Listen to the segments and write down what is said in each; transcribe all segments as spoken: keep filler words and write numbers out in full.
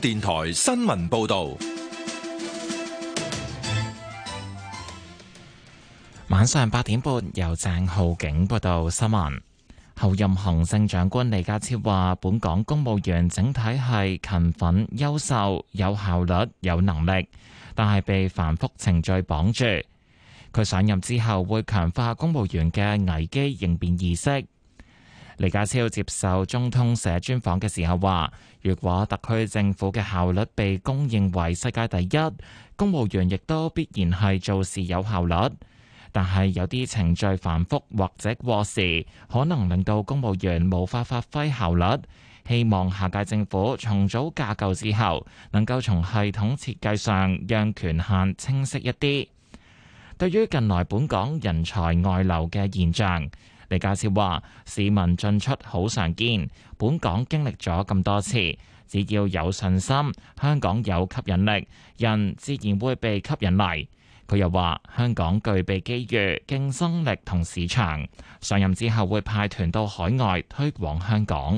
電台新聞報道。 晚上八點半，由鄭浩景報道新聞。候任行政長官李家超話，本港公務員整體係勤奮、優秀、有效率、有能力，但係被繁複程序綁住。佢上任之後會強化公務員嘅危機應變意識。李家超接受中通社專訪嘅時候話，如果特區政府嘅效率被公認為世界第一，公務員亦都必然係做事有效率。但係有啲程序繁複或者過時，可能令到公務員無法發揮效率。希望下屆政府重組架構之後，能夠從系統設計上讓權限清晰一啲。對於近來本港人才外流嘅現象，李家超話：市民進出好常見，本港經歷咗咁多次，只要有信心，香港有吸引力，人自然會被吸引嚟。佢又話：香港具備機遇、競爭力同市場，上任之後會派團到海外推廣香港。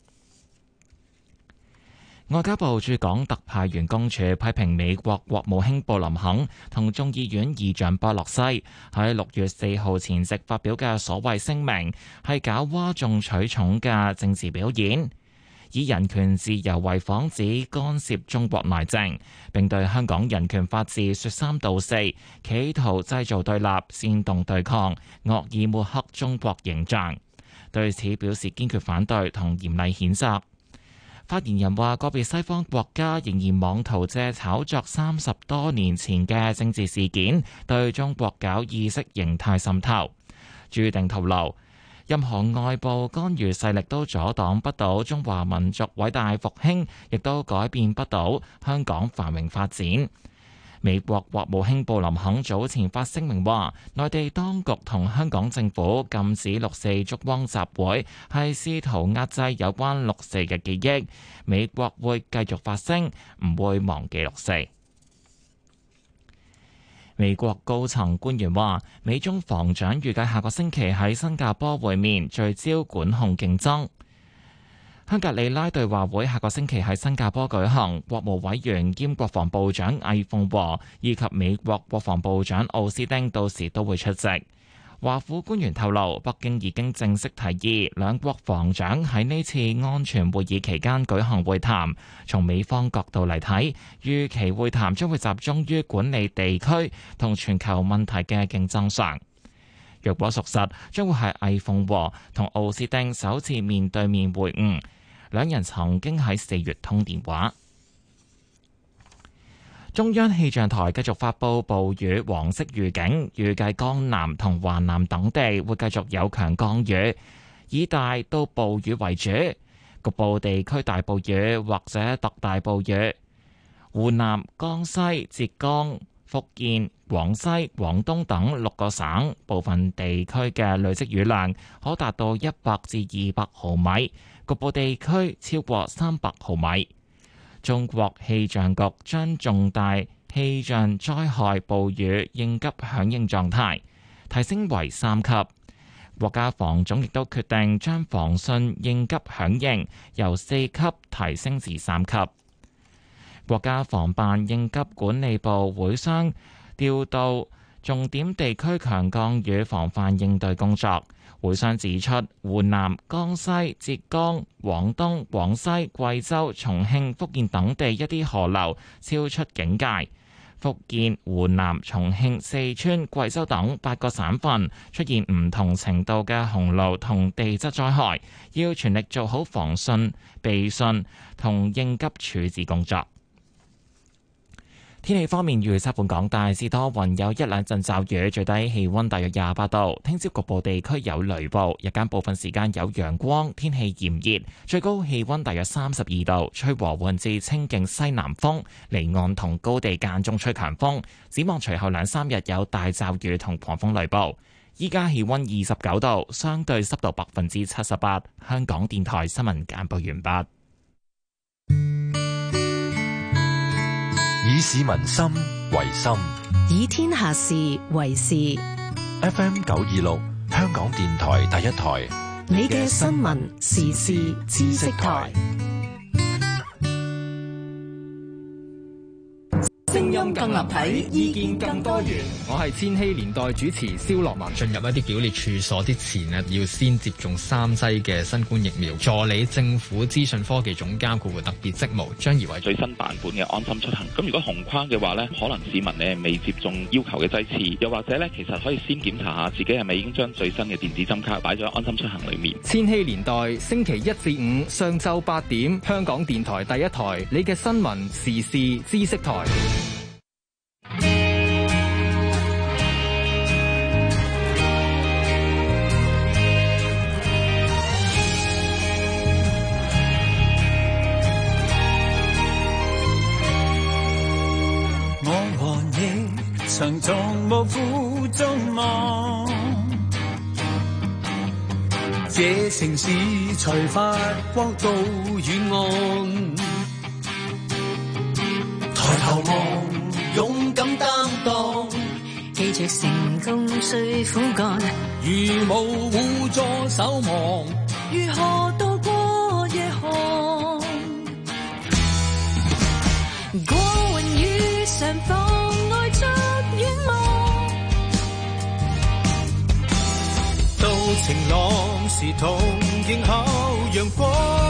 外交部駐港特派員公署批評美國國務卿布林肯同眾議院議長波洛西喺六月四號前夕發表嘅所謂聲明，係搞嘩眾取寵嘅政治表演，以人權自由為幌子干涉中國內政，並對香港人權法治說三道四，企圖製造對立、煽動對抗，惡意抹黑中國形象。對此表示堅決反對同嚴厲譴責。發言人話：個別西方國家仍然妄圖借炒作三十多年前嘅政治事件，對中國搞意識形態滲透。注定透露，任何外部干預勢力都阻擋不到中華民族偉大復興，亦都改變不到香港繁榮發展。美國國務卿布林肯早前發聲明話，內地當局同香港政府禁止六四燭光集會，係試圖壓制有關六四嘅記憶。美國會繼續發聲，唔會忘記六四。美國高層官員話，美中防長預計下個星期喺新加坡會面，聚焦管控競爭。香格里拉對話會下個星期喺新加坡舉行，國務委員兼國防部長魏鳳和以及美國國防部長奧斯汀到時都會出席。華府官員透露，北京已經正式提議兩國防長喺呢次安全會議期間舉行會談。從美方角度嚟睇，預期會談將會集中於管理地區同全球問題嘅競爭上。若果屬實，將會係魏鳳和同奧斯汀首次面對面會晤。兩人曾經喺四月通電話。中央氣象台繼續發布暴雨黃色預警，預計江南同華南等地會繼續有強降雨，以大到暴雨為主，局部地區大暴雨或者特大暴雨。湖南、江西、浙江、福建、廣西、廣東等六個省部分地區嘅累積雨量可達到一百至二百毫米，局部地區超過三百毫米。中國氣象局將重大氣象災害暴雨應急響應狀態提升為三級。國家防總亦都決定將防汛應急響應由四級提升至三級。國家防辦應急管理部會商調度重點地區強降雨防範應對工作。會商指出，湖南、江西、浙江、廣東、廣西、貴州、重慶、福建等地一啲河流超出警戒。福建、湖南、重慶、四川、貴州等八個省份出現唔同程度嘅洪澇同地質災害，要全力做好防汛、備汛同應急處置工作。天氣方面，預測本港大致多雲，有一兩陣驟雨，最低氣溫大約廿八度。聽朝局部地區有雷暴，日間部分時間有陽光，天氣炎熱，最高氣溫大約三十二度，吹和緩至清勁西南風，離岸同高地間中吹強風。展望隨後兩三日有大驟雨同狂風雷暴。依家氣溫二十九度，相對濕度百分之七十八。香港電台新聞簡報完畢。 以市民心為心， 以天下事為事。 F M 九二六，香港電台第一台， 你嘅新聞時事知識台。 聲音更立體，意見更多元。 我係千禧年代主持蕭樂文。進入一啲表列處所之前呢，要先接種三劑嘅新冠疫苗。助理政府資訊科技總監顧特別職務張怡偉。 最新版本嘅安心出行，咁如果紅框嘅話呢，可能市民呢未接種要求嘅劑次，又或者呢，其實可以先檢查下自己係咪已經將最新嘅電子針卡擺咗安心出行裏面。 千禧年代星期一至五上晝八點，香港電台第一台，你嘅新聞時事知識台。 我和你曾從無負眾望，這城市才發光到遠岸。抬頭望，勇敢擔當， 記住成功需苦幹。 如無互助守望， 如何渡過夜寒？過雲雨上妨礙着遠望。 到晴朗時同迎候陽光，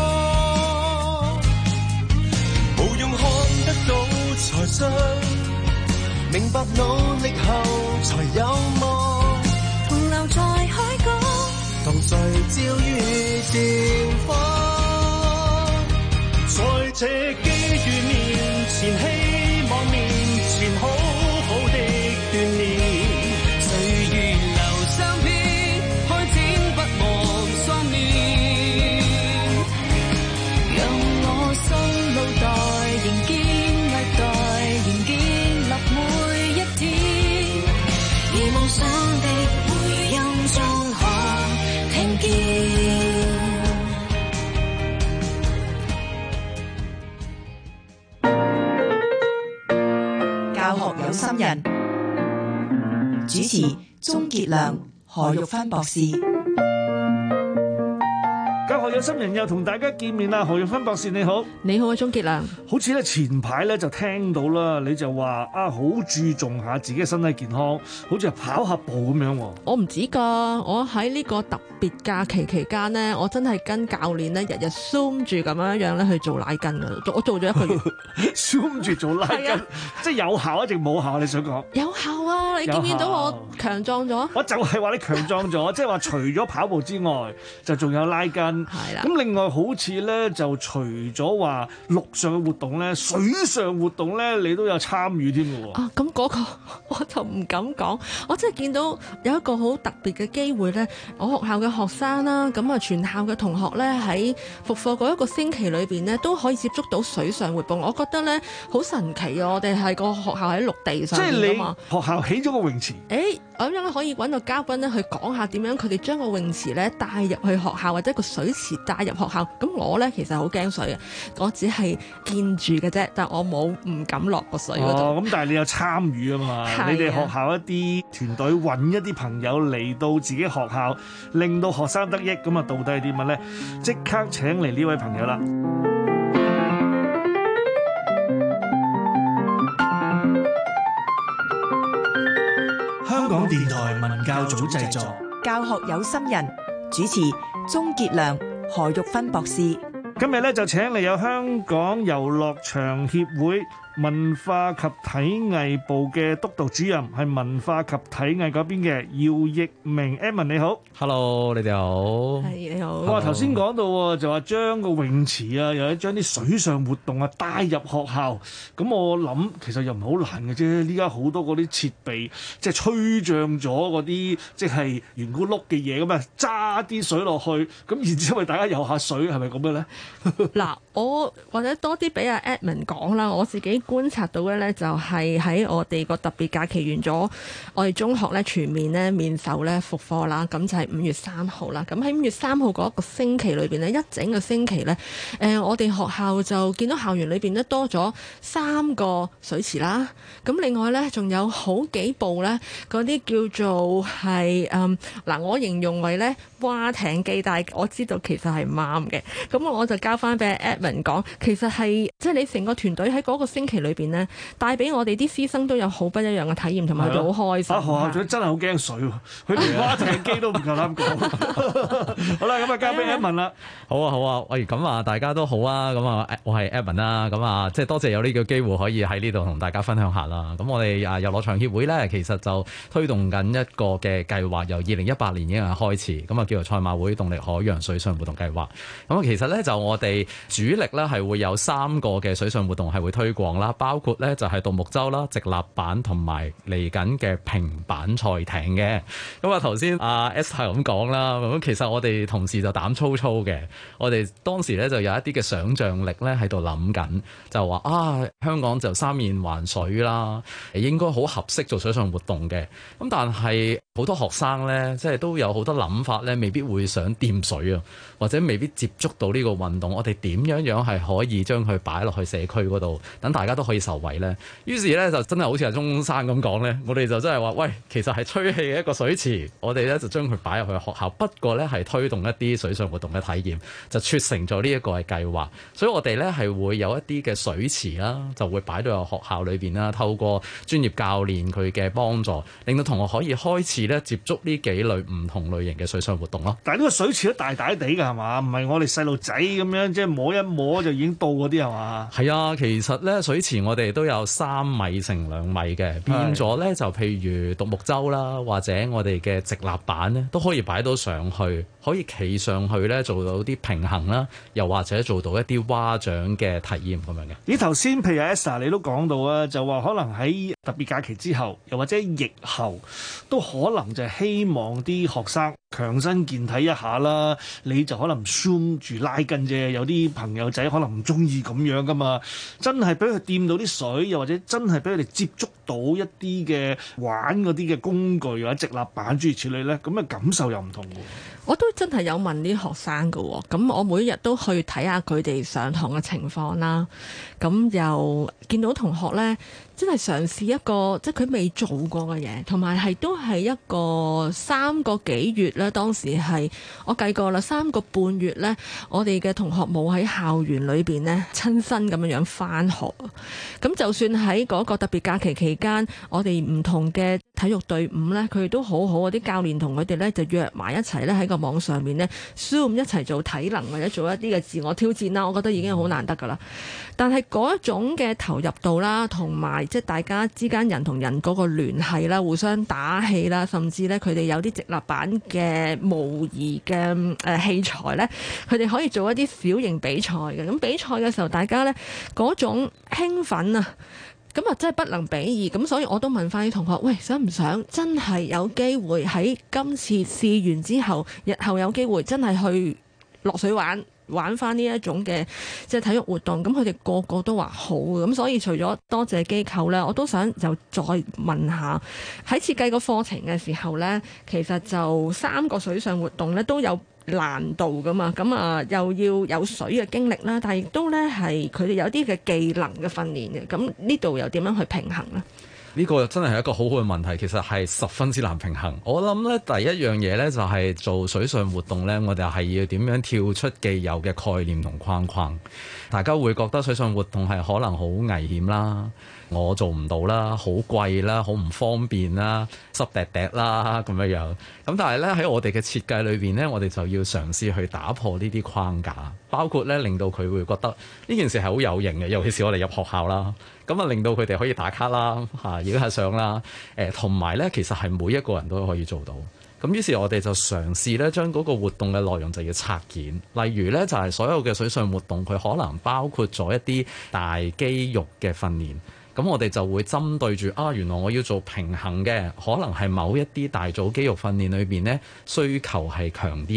無用看得到才信，明白努力後才有望。 同留在海角， 同誰照於綻放，在這機遇面前，希望面前好好的鍛鍊。歲月留相片，開展不忘雙面， 讓我心路待仍堅毅待仍建立每一天，而夢想的回音中可聽見。 教學有心人，主持鍾傑良、何玉芬博士。 教學有心人又同大家見面啦，何玉芬博士你好。 你好啊，鍾傑良。 好似咧前排咧就聽到啦，你就話啊好注重下自己嘅身體健康，好似係跑下步咁樣喎。 我唔止㗎，我喺呢個特別假期期間呢，我真係跟教練咧日日 zoom 住咁樣樣咧去做拉筋㗎，我做咗一個月。 zoom 住做拉筋，啊、即係有效一定冇效？你想講？ 有效啊！你見唔見到我強壯咗？ 我就係話你強壯咗，即係話除咗跑步之外，就仲有拉筋。 係啦。 咁另外好似咧，就除咗話陸上嘅活動咧，水上活動咧，你都有參與添嘅喎。 啊，咁嗰個我就唔敢講。我真係見到有一個好特別嘅機會咧，我學校嘅學生啦，咁啊全校嘅同學咧喺復課嗰一個星期裏邊咧，都可以接觸到水上活動。我覺得咧好神奇啊！我哋係個學校喺陸地上邊㗎嘛。 即係你學校起咗個泳池。 誒，咁樣可以揾個嘉賓咧去講下點樣佢哋將個泳池咧帶入去學校，或者個水池帶入學校。咁我咧其實好驚水嘅，我只係見住嘅啫，但我冇唔敢落個水嗰度。 哦，咁但係你有參與啊嘛？你哋學校一啲團隊揾一啲朋友嚟到自己學校，令到學生得益。咁啊，到底係啲乜咧？即刻請嚟呢位朋友啦！香港電台文教組製作， 教學有心人，主持鍾傑良、何玉芬博士。 今日咧就請嚟有香港遊樂場協會文化及體藝部嘅督導主任，係文化及體藝嗰邊嘅姚奕明 Edmond 你好。 Hello， 你哋好。 係，你好。 哇，頭先講到就話將個泳池啊，又或者將啲水上活動啊帶入學校，咁我諗其實又唔係好難嘅啫。依家好多嗰啲設備，即係吹脹咗嗰啲即係圓咕碌嘅嘢咁啊，揸啲水落去，咁然之後咪大家游下水，係咪咁嘅咧？ 嗱，我或者多啲俾阿 Edmond 講啦，我自己觀察到嘅咧就係喺我哋個特別假期完咗，我哋中學咧全面咧面授咧復課啦，咁就係五月三號啦。咁喺五月三號嗰一個星期裏邊咧，一整個星期咧，誒、呃、我哋學校就見到校園裏邊咧多咗三個水池啦。咁另外咧仲有好幾部咧嗰啲叫做係誒嗱，我形容為咧蛙艇機，但係我知道其實係唔啱嘅。咁我就交翻俾 Edmond 講，其實係即係你成個團隊喺嗰個星期裏邊呢，帶俾我哋啲師生都有好不一樣嘅體驗，同埋佢哋好開心。 啊，學校長真係好驚水喎，佢連蛙艇機都唔夠膽講。好啦，咁啊交俾 Edmond 啦。 好啊好啊，喂，咁啊大家都好啊，咁啊我係 Edmond 啦，咁啊即係多謝有呢個機會可以喺呢度同大家分享下啦。咁我哋啊遊樂場協會咧，其實就推動緊一個嘅計劃，由二零一八年已經係開始，咁啊叫做賽馬會動力海洋水上活動計劃。咁啊其實咧就我哋主力咧係會有三個嘅水上活動係會推廣啦，包括咧就係獨木舟啦、直立板同埋嚟緊嘅平板賽艇嘅。咁啊頭先阿 Esther 咁講啦，咁其實我哋同事就膽粗粗嘅，我哋當時咧就有一啲嘅想像力咧喺度諗緊，就話啊香港就三面環水啦，應該好合適做水上活動嘅。咁但係好多學生咧，即係都有好多諗法咧，未必會想掂水啊，或者未必接觸到呢個運動。我哋點樣樣係可以將佢擺落去社區嗰度，等大家都可以受惠咧？於是咧就真係好似阿鐘生咁講咧，我哋就真係話喂，其實係吹氣嘅一個水池，我哋咧就將佢擺入去學校，不過咧係推動一啲水上活動嘅體驗，就促成咗呢一個嘅計劃。所以我哋咧係會有一啲嘅水池啦，就會擺到入學校裏邊啦，透過專業教練佢嘅幫助，令到同學可以開始咧接觸呢幾類唔同類型嘅水上活動咯。 但係呢個水池都大大地㗎係嘛？唔係我哋細路仔咁樣即係摸一摸就已經到嗰啲係嘛？ 係啊，其實咧水池我哋都有三米乘兩米嘅，變咗咧就譬如獨木舟啦，或者我哋嘅直立板咧都可以擺到上去，可以企上去咧做到啲平衡啦，又或者做到一啲蛙掌嘅體驗咁樣嘅。 咦頭先譬如 Esther 你都講到啊，就話可能喺特別假期之後，又或者疫後，都可能就係希望啲學生強身健體一下啦。你就可能 zoom 住拉筋啫，有啲朋友仔可能唔中意咁樣噶嘛。真係俾佢掂到啲水，又或者真係俾佢哋接觸到一啲嘅玩嗰啲嘅工具或者直立板諸如此類咧，咁嘅感受又唔同喎。 我都真係有問啲學生㗎喎，咁我每日都去睇下佢哋上堂嘅情況啦。咁又見到同學呢，真係嘗試一個即係佢未做過嘅嘢，同埋係都係一個三個幾月咧。當時係我計過啦，三個半月呢，我哋嘅同學冇喺校園裏邊呢親身咁樣樣返學。咁就算喺嗰個特別假期期間，我哋唔同嘅體育隊伍呢，佢哋都好好，啲教練同佢哋呢就約埋一齊呢喺個網上面呢 Zoom 一齊做體能或者做一啲嘅自我挑戰啦。我覺得已經好難得㗎啦。但係嗰一種嘅投入度啦，同埋即係大家之間人同人嗰個聯繫啦，互相打氣啦，甚至咧佢哋有啲直立板嘅模擬嘅誒器材咧，佢哋可以做一啲小型比賽嘅。咁比賽嘅時候，大家咧嗰種興奮啊，咁啊真係不能比擬。咁所以我都問翻啲同學，喂，想唔想真係有機會喺今次試完之後，日後有機會真係去落水玩？玩翻呢一種嘅即係體育活動，咁佢哋個個都話好嘅。咁所以除咗多謝機構呢，我都想就再問下喺設計個課程嘅時候呢，其實就三個水上活動呢都有難度噶嘛。咁啊又要有水嘅經歷啦，但係亦都呢係佢哋有啲嘅技能嘅訓練嘅。咁呢度又點樣去平衡呢？ 呢個真係一個好好嘅問題，其實係十分之難平衡。我諗咧，第一樣嘢咧就係做水上活動咧，我哋係要點樣跳出既有嘅概念同框框。大家會覺得水上活動係可能好危險啦，我做唔到啦，好貴啦，好唔方便啦，濕滴滴啦咁樣樣。咁但係咧喺我哋嘅設計裏邊咧，我哋就要嘗試去打破呢啲框架，包括咧令到佢會覺得呢件事係好有型嘅，尤其是我哋入學校啦。咁啊，令到佢哋可以打卡啦，嚇影下相啦，誒同埋咧，其實係每一個人都可以做到。咁於是，我哋就嘗試咧，將嗰個活動嘅內容就要拆件。例如咧，就係所有嘅水上活動，佢可能包括咗一啲大肌肉嘅訓練。咁我哋就會針對住啊，原來我要做平衡嘅，可能係某一啲大組肌肉訓練裏邊咧需求係強啲嘅。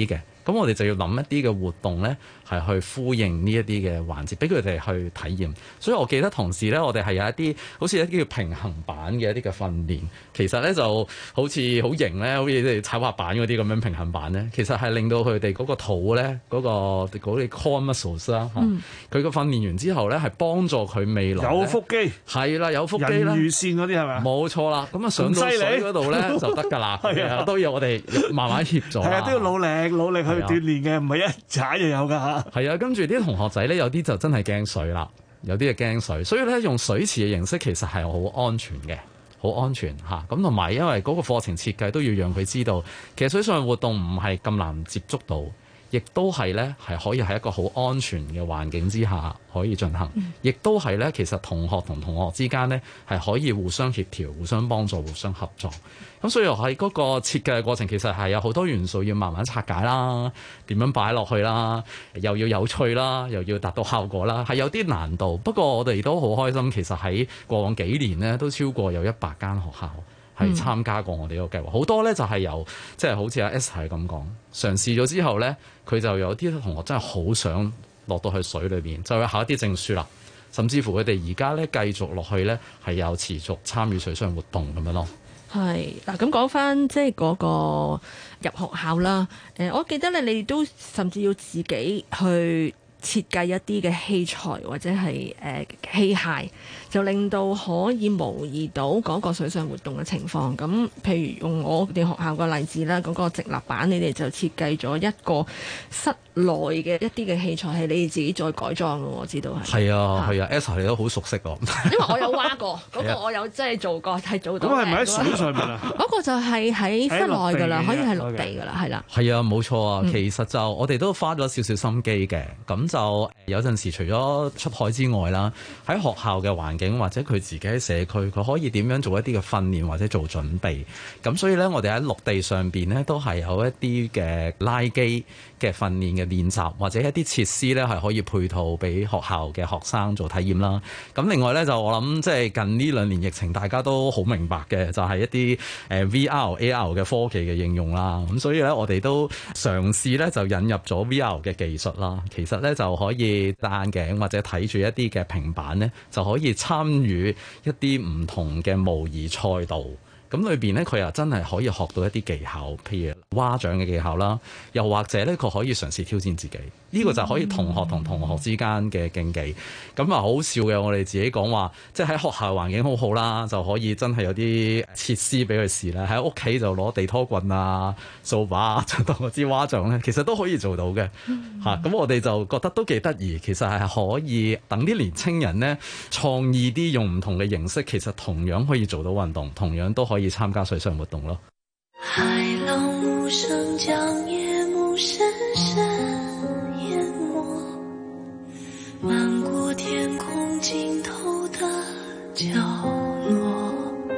咁我哋就要諗一啲嘅活動咧，係去呼應呢一啲嘅環節，俾佢哋去體驗。所以我記得同時咧，我哋係有一啲好似一啲叫平衡板嘅一啲嘅訓練，其實咧就好似好型咧，好似即係踩滑板嗰啲咁樣平衡板咧，其實係令到佢哋嗰個肚咧嗰、嗰個嗰啲 core muscles 啦、嗯，佢個訓練完之後咧係幫助佢未來有腹肌， 係啦，有腹肌啦， 人魚線嗰啲係咪？ 冇錯啦，咁啊上到水嗰度咧就得㗎啦，係啊，都要我哋慢慢協助，係啊， 都要努力努力去鍛鍊嘅，唔係一踩就有㗎嚇。 係啊，跟住啲同學仔咧，有啲就真係驚水啦，有啲係驚水，所以咧用水池嘅形式其實係好安全嘅，好安全嚇。咁同埋因為嗰個課程設計都要讓佢知道，其實水上活動唔係咁難接觸到。亦都係咧，係可以喺一個好安全嘅環境之下可以進行，亦都係咧，其實同學同同學之間咧係可以互相協調、互相幫助、互相合作。咁所以喺嗰個設計嘅過程，其實係有好多元素要慢慢拆解啦，點樣擺落去啦，又要有趣啦，又要達到效果啦，係有啲難度。不過我哋都好開心，其實喺過往幾年咧都超過有一百間學校係參加過我哋呢個計劃，好、嗯、多咧就係由即係、就是、好似阿 S 係咁講，嘗試咗之後咧，佢就有啲同學真係好想落到去水裏邊，就會考一啲證書啦，甚至乎佢哋而家咧繼續落去咧係有持續參與水上活動咁樣咯。 係嗱，咁講翻即係嗰個入學校啦。誒，我記得咧，你都甚至要自己去設計一啲嘅器材或者係誒器械，就令到可以模擬到嗰個水上活動嘅情況。咁譬如用我哋學校個例子啦，嗰個直立板，你哋就設計咗一個室內嘅一啲嘅器材，係你哋自己再改裝嘅。我知道係。係啊，係啊 Elsa 你都好熟悉喎。 因為我有挖過，嗰個我有真係做過，係做到。 咁係咪喺水上面啊？ 嗰個就係喺室內㗎啦，可以係陸地㗎啦，係啦。 係啊，冇錯啊。其實就我哋都花咗少少心機嘅，咁就有陣時除咗出海之外啦，喺學校嘅環境或者佢自己喺社區，佢可以點樣做一啲嘅訓練或者做準備。咁所以咧，我哋喺陸地上邊咧都係有一啲嘅拉機嘅訓練嘅練習，或者一啲設施咧係可以配套俾學校嘅學生做體驗啦。咁另外咧就我諗即係近呢兩年疫情，大家都好明白嘅，就係一啲誒 V R、A R 嘅科技嘅應用啦。咁所以咧，我哋都嘗試咧就引入咗 V R 嘅技術啦。其實咧就可以戴眼鏡或者睇住一啲嘅平板咧，就可以參與一啲唔同嘅模擬賽道。咁裏邊咧，佢又真係可以學到一啲技巧，譬如蛙掌嘅技巧啦，又或者咧，佢可以嘗試挑戰自己。呢、這個就可以同學同同學之間嘅競技。咁啊，好笑嘅，我哋自己講話，即係喺學校環境好好啦，就可以真係有啲設施俾佢試啦。喺屋企就攞地拖棍啊、掃把啊，就當嗰支蛙掌咧，其實都可以做到嘅。嚇、嗯，咁、啊、我哋就覺得都幾得意。其實係可以等啲年青人咧創意啲，用唔同嘅形式，其實同樣可以做到運動，同樣都可以參加水上活動咯。 海浪無聲將夜幕深深淹沒，漫過天空盡頭的角落，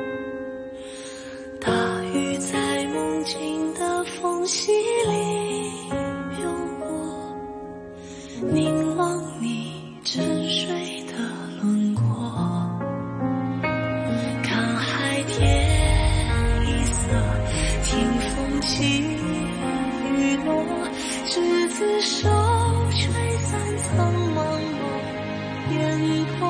大雨在夢境的縫隙裡流過，凝望你沉睡的輪廓，看海天聽風起雨落，執子手，吹散蒼茫茫煙波。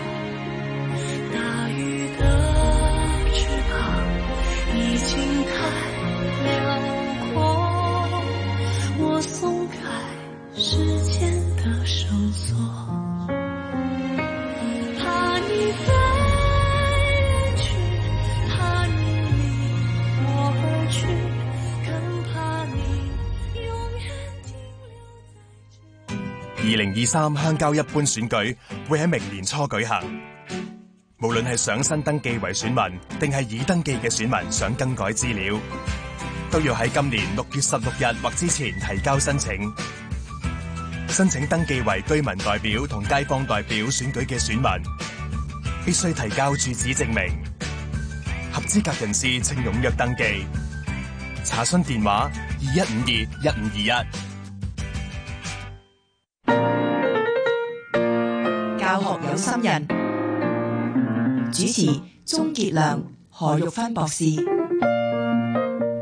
大雨的翅膀已經太遼闊，我鬆開時間的繩索，怕你飛。 二零二三鄉郊一般選舉會喺明年初舉行，無論係想新登記為選民，定係已登記嘅選民想更改資料，都要喺今年六月十六日或之前提交申請。申請登記為居民代表同街坊代表選舉嘅選民，必須提交住址證明。合資格人士請踴躍登記。查詢電話二一五二一五二一。 教學有心人，主持鍾傑良、何玉芬博士。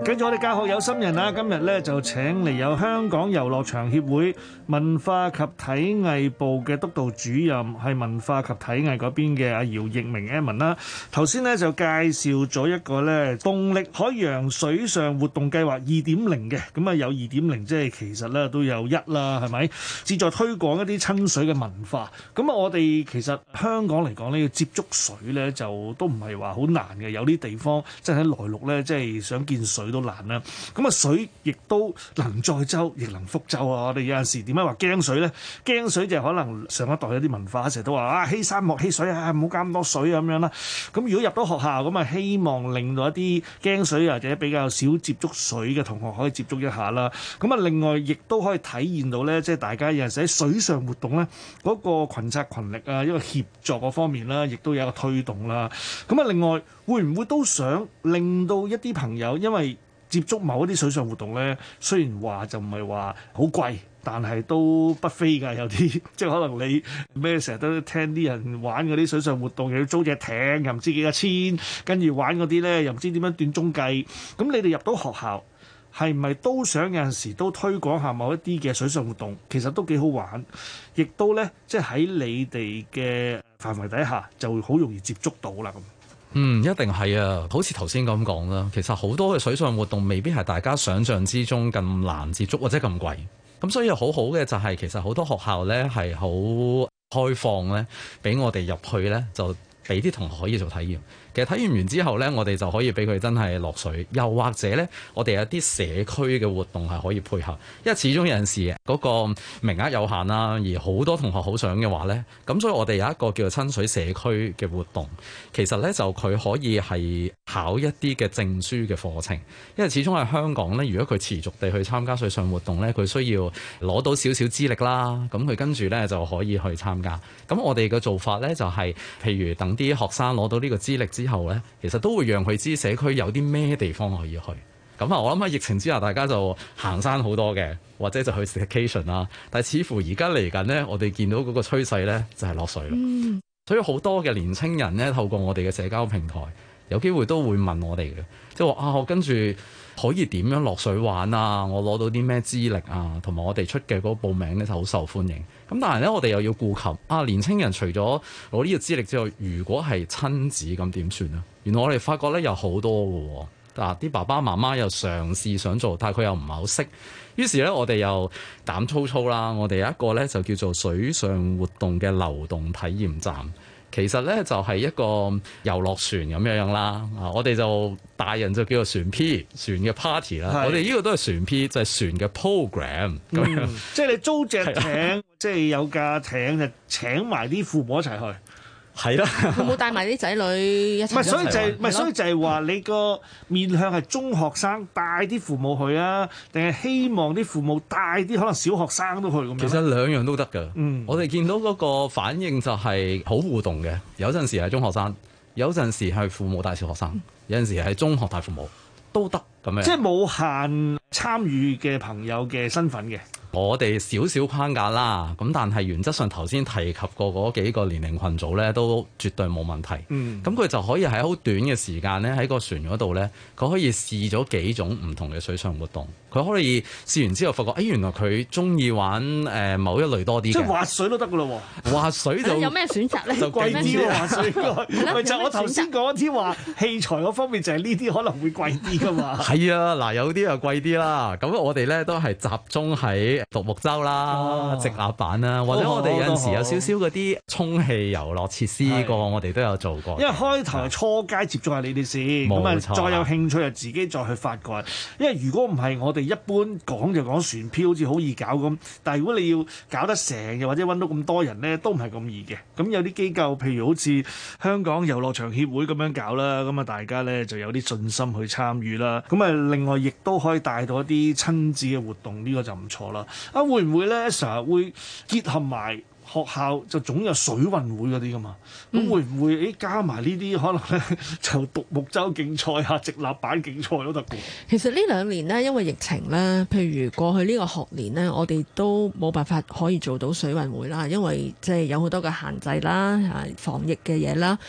跟住我哋教學有心人啦，今日咧就請嚟有香港遊樂場協會文化及體藝部嘅督導主任，係文化及體藝嗰邊嘅阿姚奕明 Edmond 啦。頭先咧就介紹咗一個咧動力海洋水上活動計劃二點零嘅，咁啊有二點零即係其實咧都有一啦，係咪？旨在推廣一啲親水嘅文化。咁啊，我哋其實香港嚟講咧，要接觸水咧就都唔係話好難嘅，有啲地方即係喺內陸咧，即係想見水都難啦。咁啊，水亦都能載舟，亦能覆舟啊！我哋有陣時點解話驚水咧？驚水就係可能上一代有啲文化成日都話啊，欺山莫欺水啊，唔好加咁多水咁樣啦。咁如果入到學校咁啊，希望令到一啲驚水或者比較少接觸水嘅同學可以接觸一下啦。咁啊，另外亦都可以體驗到咧，即係大家有陣時喺水上活動咧，嗰個群策群力啊，一個協作嗰方面啦，亦都有一個推動啦。咁啊，另外會唔會都想令到一啲朋友因為接觸某一啲水上活動咧，雖然話就唔係話好貴，但係都不菲㗎。有啲即係可能你咩成日都聽啲人玩嗰啲水上活動，又要租隻艇，又唔知幾多錢，跟住玩嗰啲咧，又唔知點樣斷鐘計。咁你哋入到學校係咪都想有陣時都推廣下某一啲嘅水上活動？其實都幾好玩，亦都咧即係喺你哋嘅範圍底下就會好容易接觸到啦咁。 嗯，一定係啊！好似頭先咁講啦，其實好多嘅水上活動未必係大家想象之中咁難接觸或者咁貴。咁所以好好嘅就係其實好多學校呢係好開放呢，俾我哋入去呢，就俾啲同學可以做體驗。其實體驗完之後呢，我哋就可以俾佢真係落水，又或者呢，我哋有啲社區嘅活動係可以配合，因為始終有陣時嗰個名額有限啦，而好多同學好想嘅話呢，咁所以我哋有一個叫做親水社區嘅活動，其實呢，就佢可以係考一啲嘅證書嘅課程，因為始終喺香港呢，如果佢持續地去參加水上活動呢，佢需要攞到少少資歷啦，咁佢跟住呢，就可以去參加。咁我哋嘅做法呢，就係、是，譬如等啲學生攞到呢個資歷之後咧，其實都會讓佢知社區有啲咩地方可以去。咁啊，我諗喺疫情之下，大家就行山好多嘅，或者就去 staycation 啦。但係似乎而家嚟緊呢，我哋見到嗰個趨勢咧，就係落水啦。嗯、所以好多嘅年青人咧，透過我哋嘅社交平台，有機會都會問我哋嘅，即係話啊，我跟住可以點樣落水玩啊？我攞到啲咩資歷啊？同埋我哋出嘅嗰個報名咧就好受歡迎。咁但係咧，我哋又要顧及啊，年青人除咗攞呢個資歷之外，如果係親子咁點算啊？原來我哋發覺咧有好多嘅喎，嗱啲爸爸媽媽又嘗試想做，但係佢又唔係好識。於是咧，我哋又膽粗粗啦，我哋有一個咧就叫做水上活動嘅流動體驗站。其實咧就係一個遊樂船咁樣樣啦，啊，我哋就大人就叫做船 P， 船嘅 party 啦。我哋呢個都係船 P，就係船嘅 program 咁樣。 嗯、即係你租隻艇，即係有架艇就請埋啲父母一齊去。 係啦， 有冇帶埋啲仔女一齊？ 唔係，所以就係唔係，所以就係話你個面向係中學生帶啲父母去啊，定係希望啲父母帶啲可能小學生都去咁樣？ 其實兩樣都得㗎。 嗯， 我哋見到嗰個反應就係好互動嘅，有陣時係中學生，有陣時係父母帶小學生，有陣時係中學帶父母都得咁樣。 即係冇限參與嘅朋友嘅身份嘅。 我哋少少框架啦，咁但係原則上頭先提及過嗰幾個年齡群組咧，都絕對冇問題。嗯，咁佢就可以喺好短嘅時間咧，喺個船嗰度咧，佢可以試咗幾種唔同嘅水上活動。佢可以試完之後，發覺誒、哎、原來佢中意玩誒、呃、某一類多啲嘅。 即係滑水都得㗎咯喎！滑水就有咩選擇咧？ 就貴啲喎，滑水應該。咪就我頭先講啲話器材嗰方面，就係呢啲可能會貴啲㗎嘛。 係啊，嗱有啲又貴啲啦。咁我哋咧都係集中喺獨木舟啦、哦、直立板啦，或者我哋有陣時有少少嗰啲充氣遊樂設施個，我哋都有做過。 因為開頭係初階接觸下你哋先，咁啊再有興趣就自己再去發掘。因為如果唔係，我哋一般講就講船漂好似好易搞咁，但係如果你要搞得成，又或者揾到咁多人咧，都唔係咁易嘅。咁有啲機構，譬如好似香港遊樂場協會咁樣搞啦，咁啊大家咧就有啲信心去參與啦。咁啊另外亦都可以帶到一啲親子嘅活動，呢、呢個就唔錯啦。啊會唔會咧成日會結合埋學校就總有水運會嗰啲噶嘛？咁、嗯、會唔會誒加埋呢啲可能咧就獨木舟競賽啊、直立板競賽都得嘅？ 其實呢兩年呢，因為疫情咧，譬如過去呢個學年呢，我哋都冇辦法可以做到水運會啦，因為即係有好多嘅限制啦、啊防疫嘅嘢啦。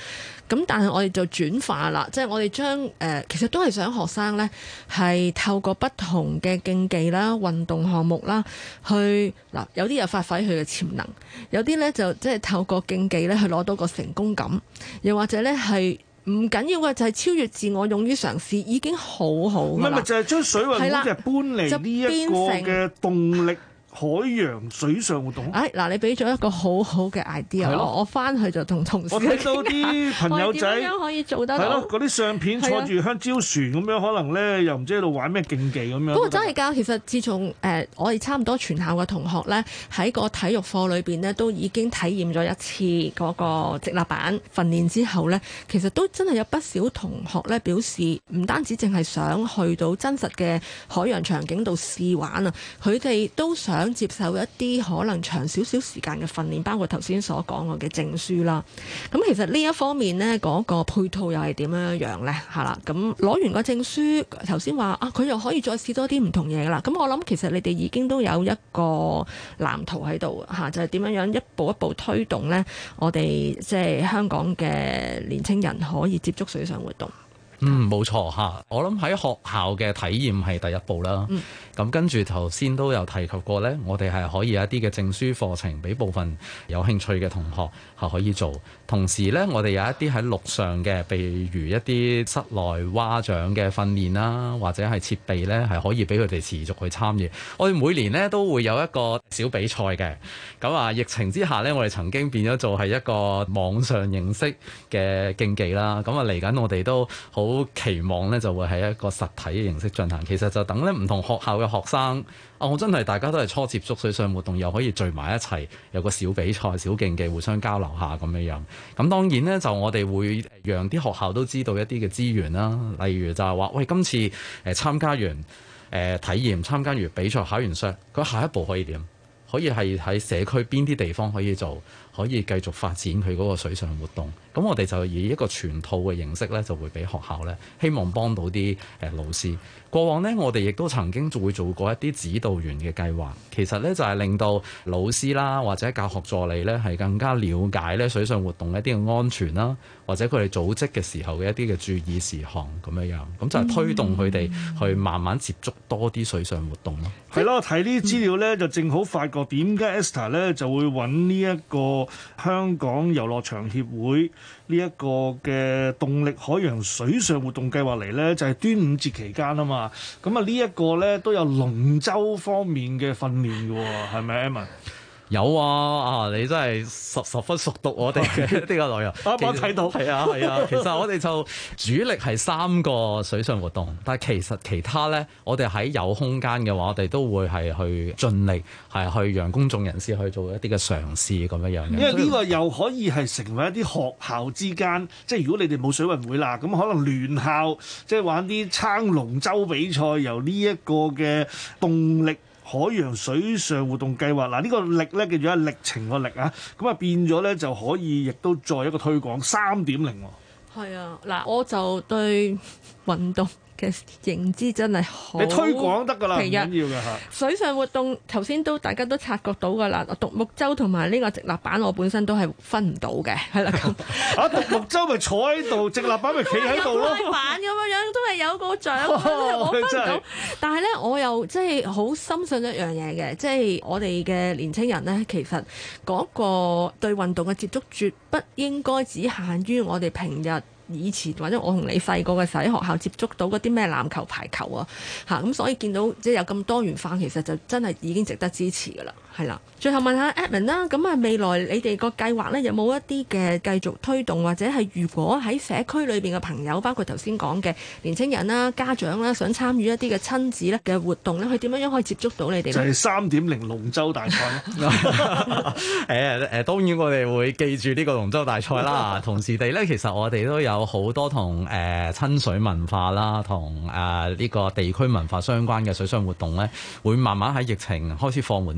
咁但係我哋就轉化啦，即係我哋將誒其實都係想學生呢係透過不同嘅競技啦、運動項目啦，去嗱有啲又發揮佢嘅潛能，有啲呢就即係透過競技呢去攞到個成功感，又或者呢係唔緊要嘅，就係超越自我，勇於嘗試已經好好㗎啦。 唔係咪就係將水運會就係搬嚟呢一個嘅動力海洋水上活動。 哎嗱，你俾咗一個好好嘅 idea，我我翻去就同同事。 我睇到啲朋友仔點樣可以做得到？ 係咯，嗰啲相片坐住香蕉船咁樣，可能咧又唔知喺度玩咩競技咁樣。 不過真係㗎，其實自從誒、呃、我哋差唔多全校嘅同學咧喺個體育課裏邊咧都已經體驗咗一次嗰個直立板訓練之後咧，其實都真係有不少同學咧表示，唔單止淨係想去到真實嘅海洋場景度試玩啊，佢哋都想接受一啲可能長少少時間嘅訓練，包括頭先所講過嘅證書啦。咁其實呢一方面呢，嗰、那個配套又係點樣樣呢？係啦，咁攞完個證書，頭先話啊，佢又可以再試多啲唔同嘢噶啦。咁我諗其實你哋已經都有一個藍圖喺度嚇，就係、是、點樣樣一步一步推動呢，我哋即係香港嘅年青人可以接觸水上活動。 嗯，冇錯嚇。我諗喺學校嘅體驗係第一步啦。咁、嗯、跟住頭先都有提及過呢，我哋係可以有一啲嘅證書課程俾部分有興趣嘅同學係可以做。同時呢，我哋有一啲喺陸上嘅，譬如一啲室內蛙掌嘅訓練啦，或者係設備呢，係可以俾佢哋持續去參與。我哋每年呢都會有一個小比賽嘅。咁啊，疫情之下呢，我哋曾經變咗做係一個網上形式嘅競技啦。咁啊，嚟緊我哋都好好期望咧，就會係一個實體嘅形式進行。其實就等咧唔同學校嘅學生，啊，我真係大家都係初接觸水上活動，又可以聚埋一齊，有個小比賽、小競技，互相交流下咁樣樣。咁當然呢，就我哋會讓啲學校都知道一啲嘅資源啦，例如就係話，喂，今次誒參加完誒、呃、體驗，參加完比賽，考完試，佢下一步可以點？可以係喺社區邊啲地方可以做，可以繼續發展佢嗰個水上活動。咁我哋就以一個全套嘅形式咧，就會俾學校咧，希望幫到啲誒老師。過往呢，我哋亦都曾經會做過一啲指導員嘅計劃，其實咧就係令到老師啦或者教學助理咧係更加了解咧水上活動一啲嘅安全啦，或者佢哋組織嘅時候嘅一啲嘅注意事項咁樣樣，咁就係推動佢哋去慢慢接觸多啲水上活動咯。 係咯，睇呢啲資料咧，就正好發覺點解 Esther 咧就會揾呢一個香港遊樂場協會呢一個嘅動力海洋水上活動計劃嚟咧，就係端午節期間啊嘛。咁啊呢一個咧都有龍舟方面嘅訓練嘅喎，係咪 Emma？ 有啊！啊，你真係十十分熟讀我哋嘅呢個內容。 我我睇到， 係啊係啊。其實我哋就主力係三個水上活動，但係其實其他咧，我哋喺有空間嘅話，我哋都會係去盡力係去讓公眾人士去做一啲嘅嘗試咁樣樣嘅。 因為呢個又可以係成為一啲學校之間，即係如果你哋冇水運會啦，咁可能聯校即係玩啲撐龍舟比賽，由呢一個嘅動力海洋水上活動計劃，嗱、這、呢個力咧叫做歷程個力啊，咁啊變咗咧就可以亦都再一個推廣三點零喎。 係啊，嗱我就對運動嘅認知真係好， 你推廣得㗎啦，唔緊要㗎嚇。 水上活動頭先都大家都察覺到㗎啦，獨木舟同埋呢個直立板我本身都係分唔到嘅，係啦咁。 啊，獨木舟咪坐喺度，直立板咪企喺度咯。 開板咁樣樣都係有個獎，我分唔到。但係咧，我又即係好深信一樣嘢嘅，即係我哋嘅年青人咧，其實嗰個對運動嘅接觸絕不應該只限於我哋平日。以前或者我同你細個嘅時候喺學校接觸到嗰啲咩籃球、排球啊，嚇咁所以見到即係有咁多元化，其實就真係已經值得支持㗎啦，係啦。最後問下 Edmond 啦，咁啊未來你哋個計劃咧有冇一啲嘅繼續推動，或者係如果喺社區裏邊嘅朋友，包括頭先講嘅年青人啦、家長啦，想參與一啲嘅親子咧嘅活動咧，佢點樣樣可以接觸到你哋咧？ 就係三點零龍舟大賽咯。 誒誒，當然我哋會記住呢個龍舟大賽啦。同時地咧，其實我哋都有。有好多同誒親水文化啦，同誒呢個地區文化相關嘅水上活動咧，會慢慢喺疫情開始放緩之後咧，就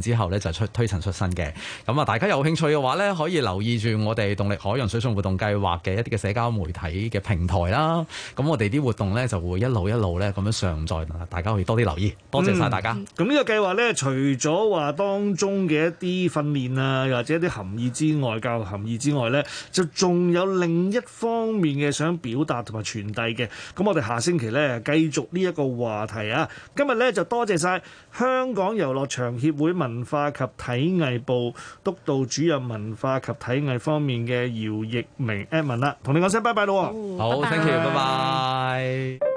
就出推陳出新嘅。咁啊，大家有興趣嘅話咧，可以留意住我哋動力海洋水上活動計劃嘅一啲嘅社交媒體嘅平台啦。咁我哋啲活動咧就會一路一路咧咁樣上載，大家可以多啲留意。多謝晒大家。 咁呢、嗯、個計劃咧，除咗話當中嘅一啲訓練啊，又或者一啲含義之外，教育含義之外咧，就仲有另一方面嘅想表達同埋傳遞嘅。咁我哋下星期咧繼續呢一個話題啊。今日咧就多謝晒香港遊樂場協會文化及體藝部督導主任文化及體藝方面嘅姚奕明 Edmond 啦，同你講聲拜拜咯。 好， thank you，拜拜。